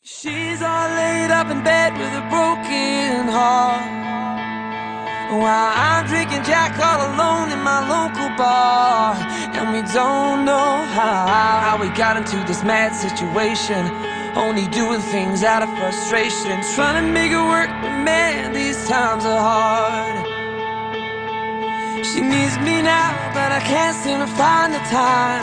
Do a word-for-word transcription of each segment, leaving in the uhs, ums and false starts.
She's all laid up in bed with a broken heart, while I'm drinking Jack all alone in my local bar. And we don't know how, how we got into this mad situation, only doing things out of frustration, trying to make it work, but man, these times are hard. She needs me now, but I can't seem to find the time.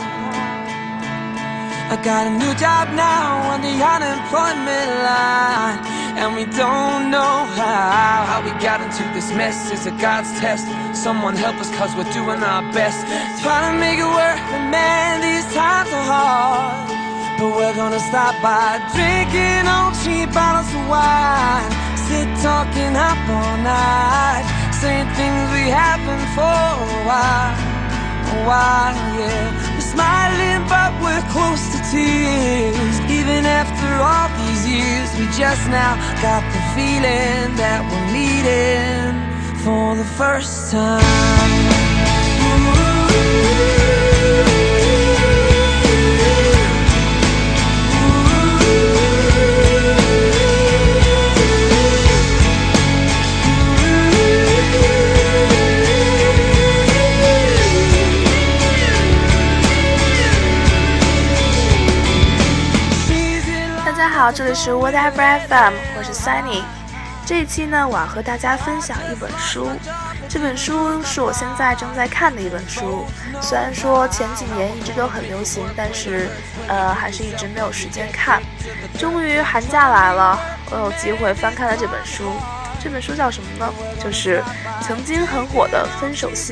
I got a new job now on the unemployment line, and we don't know how, how we got into this mess. It's a God's test. Someone help us, cause we're doing our best, trying to make it work, but man, these times are hard. But we're gonna stop by drinking on cheap bottles of wine, sit talking up all night, saying things we haven't for a while, a while, yeah. We're smiling but we're close to tears, even after all these years. We just now got the feeling that we're meeting for the first time. Ooh. 大家好，这里是 Whatever F M， 我是 Sunny。这一期呢，我要和大家分享一本书。这本书是我现在正在看的一本书。虽然说前几年一直都很流行，但是呃，还是一直没有时间看。终于寒假来了，我有机会翻看了这本书。这本书叫什么呢？就是曾经很火的《分手信》。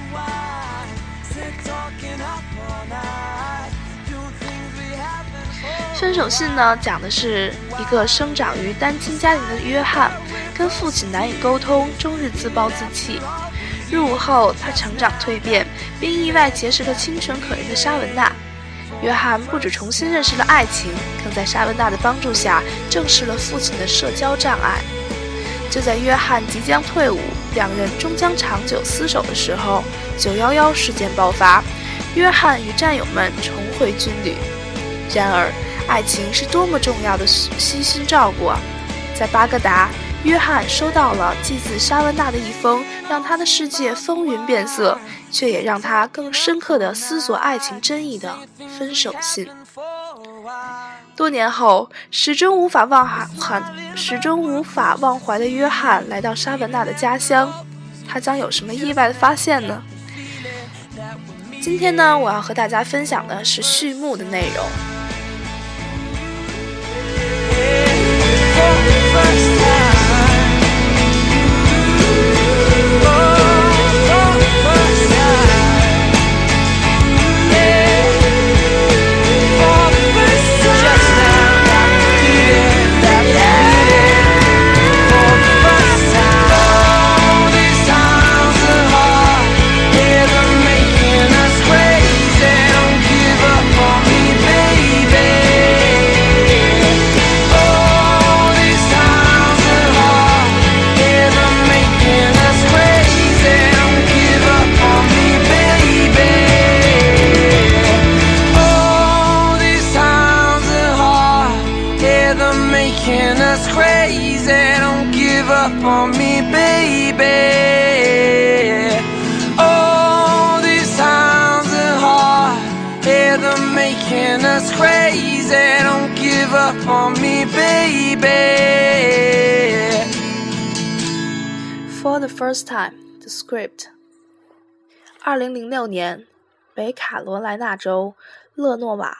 分手信呢，讲的是一个生长于单亲家庭的约翰，跟父亲难以沟通，终日自暴自弃。入伍后，他成长蜕变，并意外结识了清纯可人的莎文娜。约翰不止重新认识了爱情，更在莎文娜的帮助下正视了父亲的社交障碍。就在约翰即将退伍，两人终将长久厮守的时候，九一一事件爆发，约翰与战友们重回军旅。然而爱情是多么重要的悉心照顾啊！在巴格达，约翰收到了寄自莎文娜的一封让他的世界风云变色，却也让他更深刻地思索爱情真意的分手信。多年后，始终无法忘怀、始终无法忘怀的约翰来到莎文娜的家乡，他将有什么意外的发现呢？今天呢，我要和大家分享的是序幕的内容。 On me, baby. Oh, these times are hard. Yeah, they're making us crazy. Don't give up on me, baby. For the first time, the script. 二零零六年，北卡罗来纳州勒诺瓦。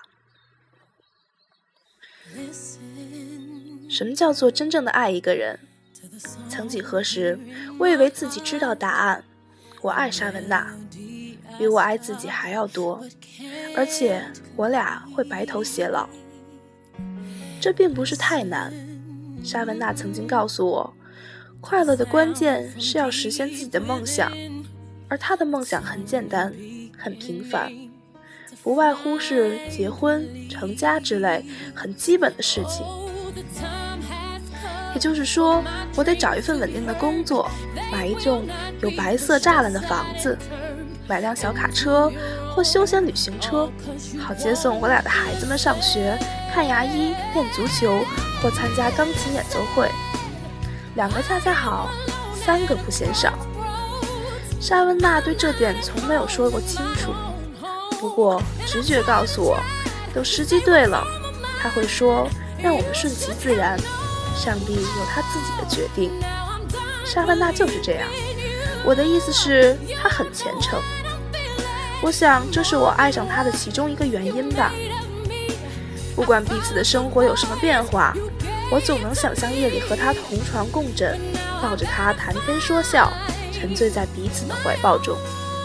什么叫做真正的爱一个人？曾几何时，我以为自己知道答案。我爱莎文娜，比我爱自己还要多，而且我俩会白头偕老。这并不是太难。莎文娜曾经告诉我，快乐的关键是要实现自己的梦想，而她的梦想很简单，很平凡，不外乎是结婚、成家之类很基本的事情。也就是说，我得找一份稳定的工作，买一栋有白色栅栏的房子，买辆小卡车或休闲旅行车，好接送我俩的孩子们上学、看牙医、练足球或参加钢琴演奏会，两个恰恰好，三个不嫌少。莎温娜对这点从没有说过清楚，不过直觉告诉我，等时机对了，他会说让我们顺其自然，上帝有他自己的决定。莎温娜就是这样，我的意思是她很虔诚，我想这是我爱上她的其中一个原因吧。不管彼此的生活有什么变化，我总能想象夜里和她同床共枕，抱着她谈天说笑，沉醉在彼此的怀抱中。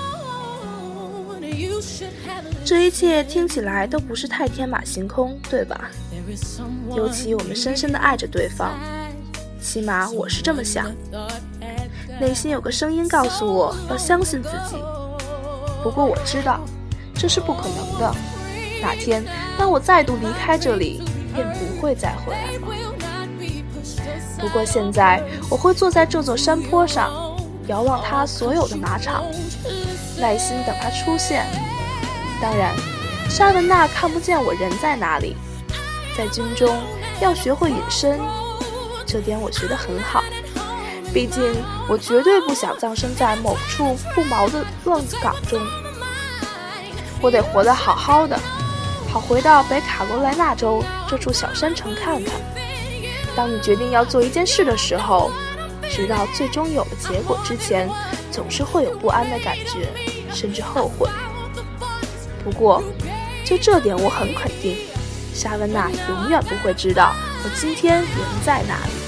这一切听起来都不是太天马行空，对吧？尤其我们深深地爱着对方，起码我是这么想。内心有个声音告诉我要相信自己，不过我知道这是不可能的。哪天当我再度离开这里，便不会再回来了。不过现在我会坐在这座山坡上，遥望它所有的马场，耐心等它出现。当然，莎文娜看不见我人在哪里。在军中要学会隐身，这点我学得很好。毕竟我绝对不想葬身在某处不毛的乱子岗中。我得活得好好的，好回到北卡罗来纳州这处小山城看看。当你决定要做一件事的时候，直到最终有了结果之前，总是会有不安的感觉，甚至后悔。不过就这点我很肯定，莎温娜永远不会知道我今天人在哪里。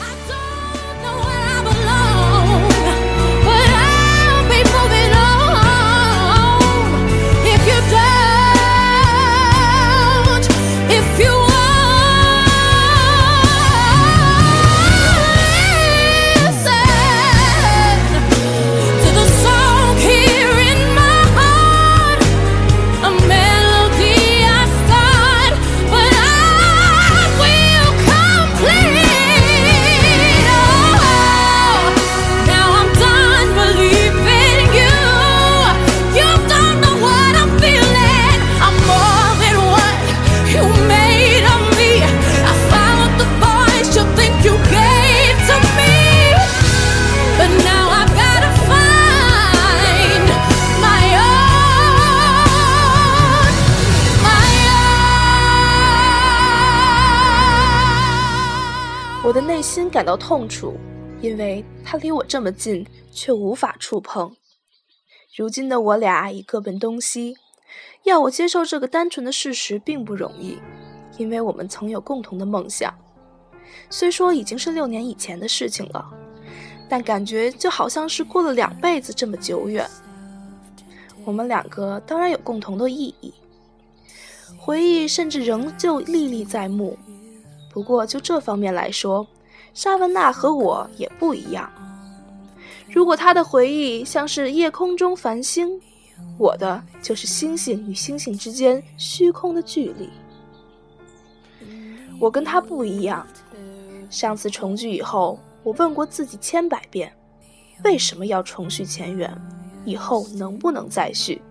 我的内心感到痛楚，因为他离我这么近，却无法触碰。如今的我俩已各奔东西，要我接受这个单纯的事实并不容易，因为我们曾有共同的梦想。虽说已经是六年以前的事情了，但感觉就好像是过了两辈子这么久远。我们两个当然有共同的意义，回忆甚至仍旧历历在目。不过就这方面来说，莎文娜和我也不一样。如果她的回忆像是夜空中繁星，我的就是星星与星星之间虚空的距离。我跟她不一样，上次重聚以后，我问过自己千百遍，为什么要重续前缘，以后能不能再续？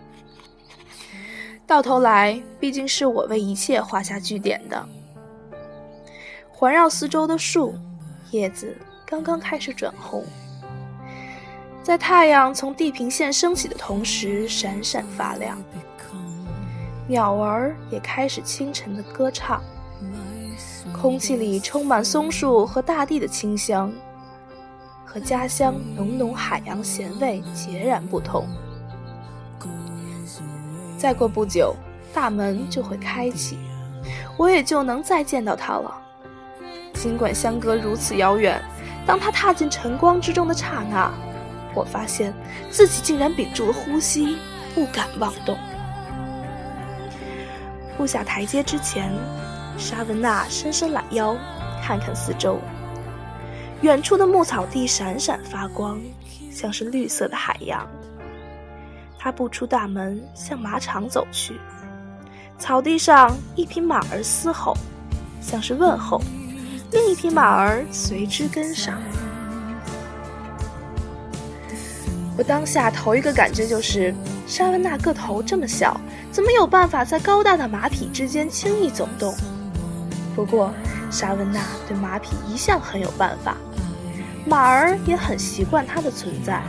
到头来毕竟是我为一切画下句点的。环绕四周的树，叶子刚刚开始转红，在太阳从地平线升起的同时闪闪发亮。鸟儿也开始清晨的歌唱，空气里充满松树和大地的清香，和家乡浓浓海洋咸味截然不同。再过不久，大门就会开启，我也就能再见到它了。尽管相隔如此遥远，当他踏进晨光之中的刹那，我发现自己竟然屏住了呼吸，不敢妄动。步下台阶之前，莎文娜伸伸懒腰，看看四周。远处的牧草地闪闪发光，像是绿色的海洋。她步出大门，向马场走去。草地上一匹马儿嘶吼，像是问候，另一匹马儿随之跟上。我当下头一个感觉就是，莎文娜个头这么小，怎么有办法在高大的马匹之间轻易走动？不过莎温娜对马匹一向很有办法，马儿也很习惯它的存在。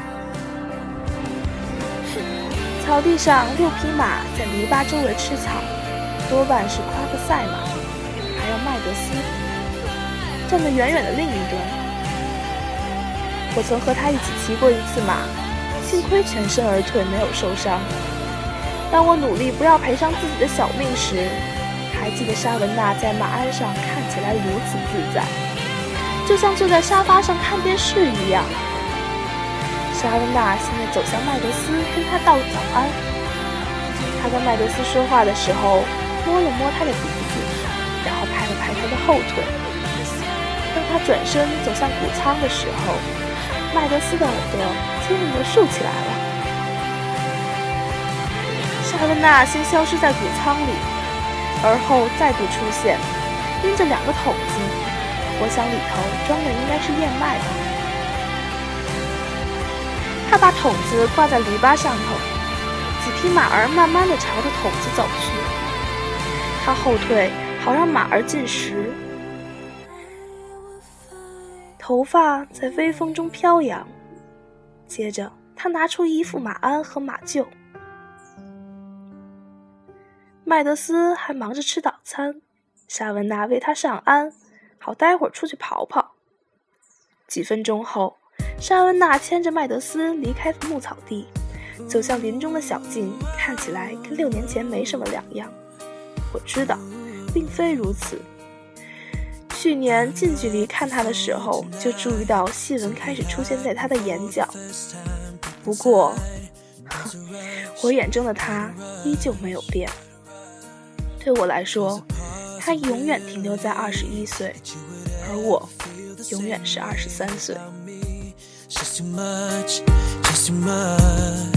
草地上六匹马在篱笆周围吃草，多半是夸克赛马，还有麦德斯站得远远的另一端。我曾和他一起骑过一次马，幸亏全身而退，没有受伤。当我努力不要赔上自己的小命时，还记得莎文娜在马鞍上看起来如此自在，就像坐在沙发上看电视一样。莎文娜现在走向麦德斯，跟他道早安。他跟麦德斯说话的时候，摸了摸他的鼻子，然后拍了拍他的后腿。当他转身走向谷仓的时候，麦德斯的耳朵轻轻地竖起来了。莎文娜先消失在谷仓里，而后再度出现，拎着两个桶子，我想里头装的应该是燕麦吧。他把桶子挂在篱笆上头，几匹马儿慢慢地朝着桶子走去。他后退，好让马儿进食。头发在微风中飘扬。接着，他拿出一副马鞍和马厩。麦德斯还忙着吃早餐，莎文娜为他上鞍，好待会儿出去跑跑。几分钟后，莎文娜牵着麦德斯离开牧草地，走向林中的小径，看起来跟六年前没什么两样。我知道，并非如此。去年近距离看他的时候，就注意到细纹开始出现在他的眼角。不过，我眼中的他依旧没有变。对我来说，他永远停留在二十一岁，而我永远是二十三岁。 Just too much, just too much.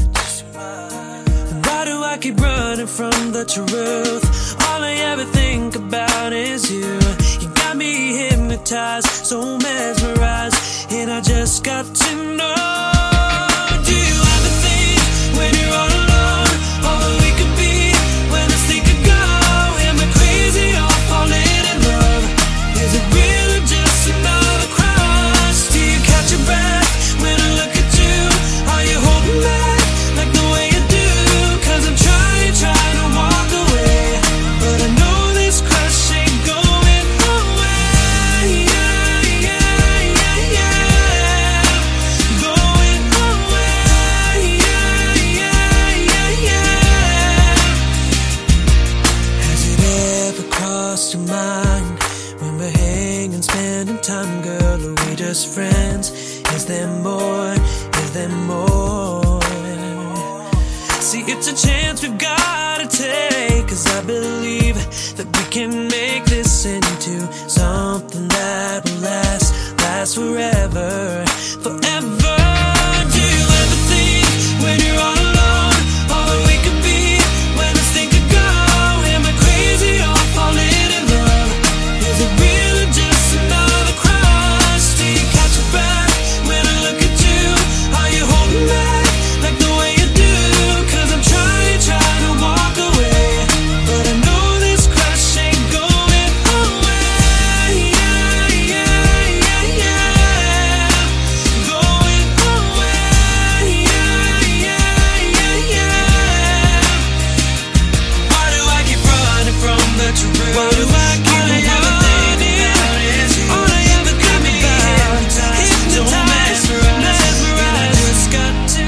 Why do I keep running from the truth? All I ever think about is you. You got me hypnotized, so mesmerized, and I just got to know. Do you ever think when you're all alone, all that we could be, when this thing could go? Am I crazy or falling in love? Is it real or just another crush? Do you catch your breath?When I look at you, are you holding back like the way you do? Cause I'm trying, trying to walk away, but I know this crush ain't going away. Yeah, yeah, yeah, yeah. Going away. Yeah, yeah, yeah, yeah. Has it ever crossed your mind when we're hanging, spending time, girl, are we just friends?Is there more? Is there more? See, it's a chance we've gotta take, cause I believe that we can make this into something that will last, last forever, forever. Do you ever think when you're all alone, all that we could be, when this thing could go? Am I crazy or falling in love? Is it real or just another crush? Do you catch your breath?When I look at you, are you holding back like the way you do? Cause I'm trying, trying to walk away, but I know this crush ain't going away. Yeah, yeah, yeah, yeah. Going away. Yeah, yeah, yeah, yeah. Why do I keep running from the truth? Why do I keep running? All I ever think about is hypnotized.Just got to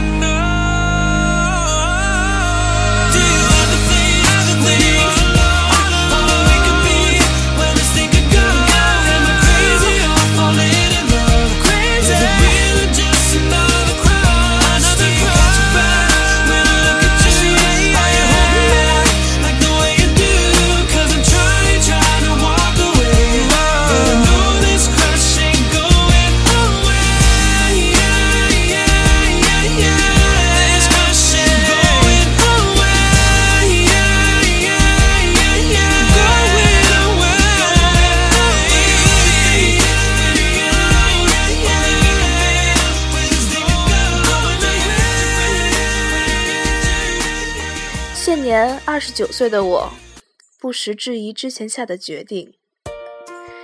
know. Do you ever think when you're all alone, all that we could be, when this thing could go? Am I crazy or falling in love? Crazy. Is it real or just another crush? Another crush. When I look at you, are you holding back like the way you do? Cause I'm trying, trying to walk away, but I know this crush ain't going away.This crush ain't going away. Yeah, yeah, yeah, yeah. Going away. 现年二十九岁的我，不时质疑之前下的决定。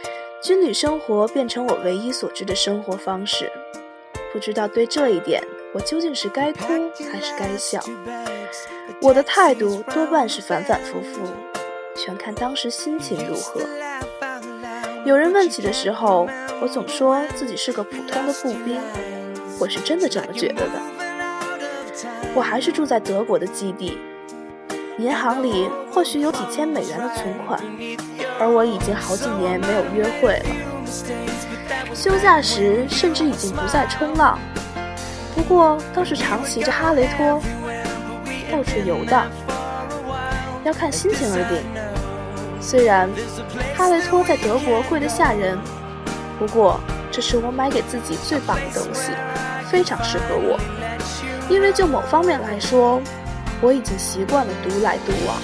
军旅生活变成我唯一所知的生活方式，不知道对这一点我究竟是该哭还是该笑。我的态度多半是反反复复，全看当时心情如何。有人问起的时候，我总说自己是个普通的步兵，我是真的这么觉得的。我还是住在德国的基地，银行里或许有几千美元的存款，而我已经好几年没有约会了。休假时甚至已经不再冲浪，不过倒是常骑着哈雷托到处游荡，要看心情而定。虽然哈雷托在德国贵得吓人，不过这是我买给自己最棒的东西，非常适合我。因为就某方面来说，我已经习惯了独来独往。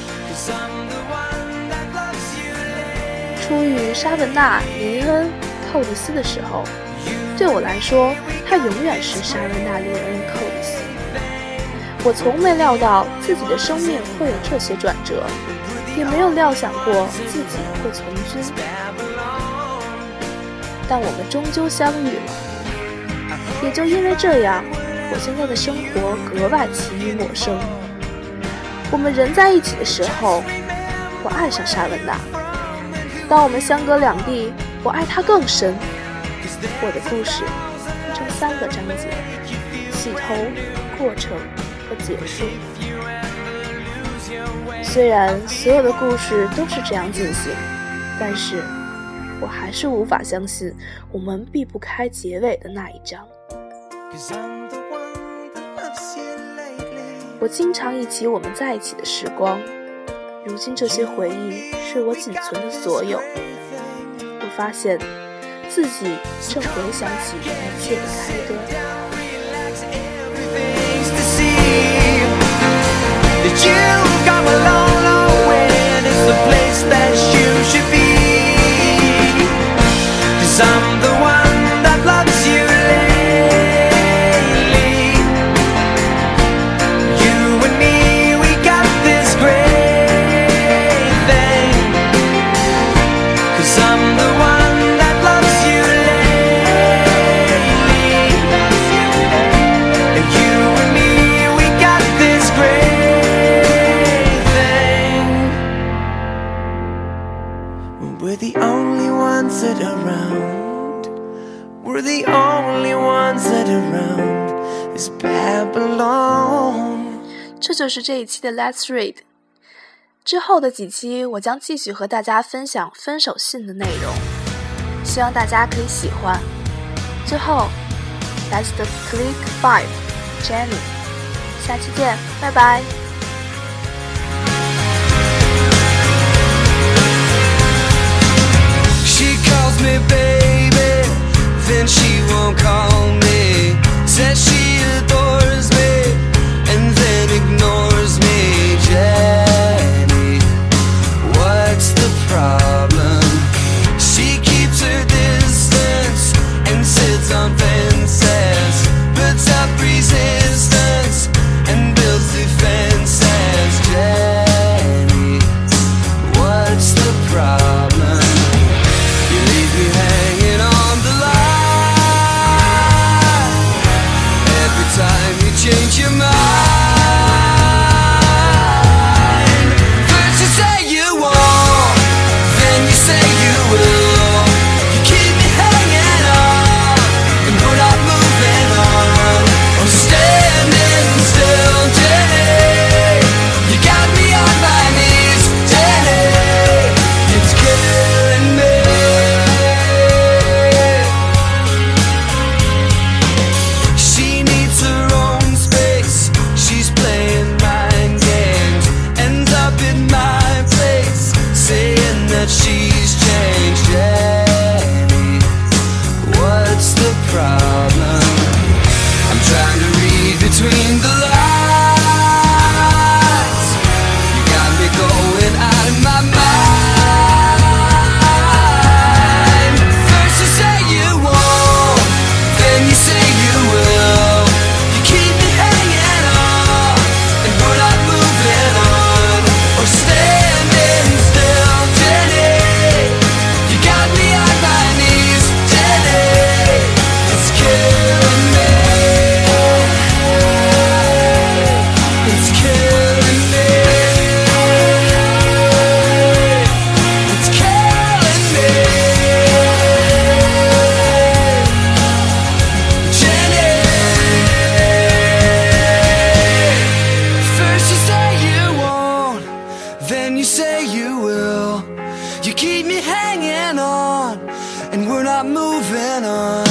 初遇莎文娜、林恩、寇蒂斯的时候，对我来说，她永远是莎文娜、林恩、寇蒂斯。我从没料到自己的生命会有这些转折，也没有料想过自己会从军。但我们终究相遇了，也就因为这样，我现在的生活格外奇异陌生。我们人在一起的时候，我爱上莎文娜；当我们相隔两地，我爱她更深。我的故事分成三个章节：起头、过程和结束。虽然所有的故事都是这样进行，但是我还是无法相信我们避不开结尾的那一章。我经常忆起我们在一起的时光，如今这些回忆是我仅存的所有。我发现自己正回想起一切的开端。 We're the only ones that are around. We're the only ones that are around. This Babylon. 这就是这一期的 Let's Read。之后的几期我将继续和大家分享分手信的内容，希望大家可以喜欢。最后 That's the Click Five Jenny， 下期见，拜拜。 Calls me baby, then she won't call me. Says she adores me, and then ignores me. Jenny, what's the problem? She keeps her distance and sits on fences, puts up resistance and builds defenses. Jenny, what's the problem? Hanging on the line. Every time you change your mind. First you say you won't, then you say you will. You keep me hanging on, and and we're not moving on.